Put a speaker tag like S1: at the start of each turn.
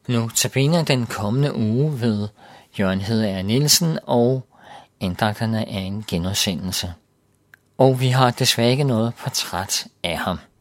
S1: Nu tabiner den kommende uge ved Jørgen Hedeager Nielsen, og andagterne er en genudsendelse. Og vi har desværre ikke noget portræt af ham.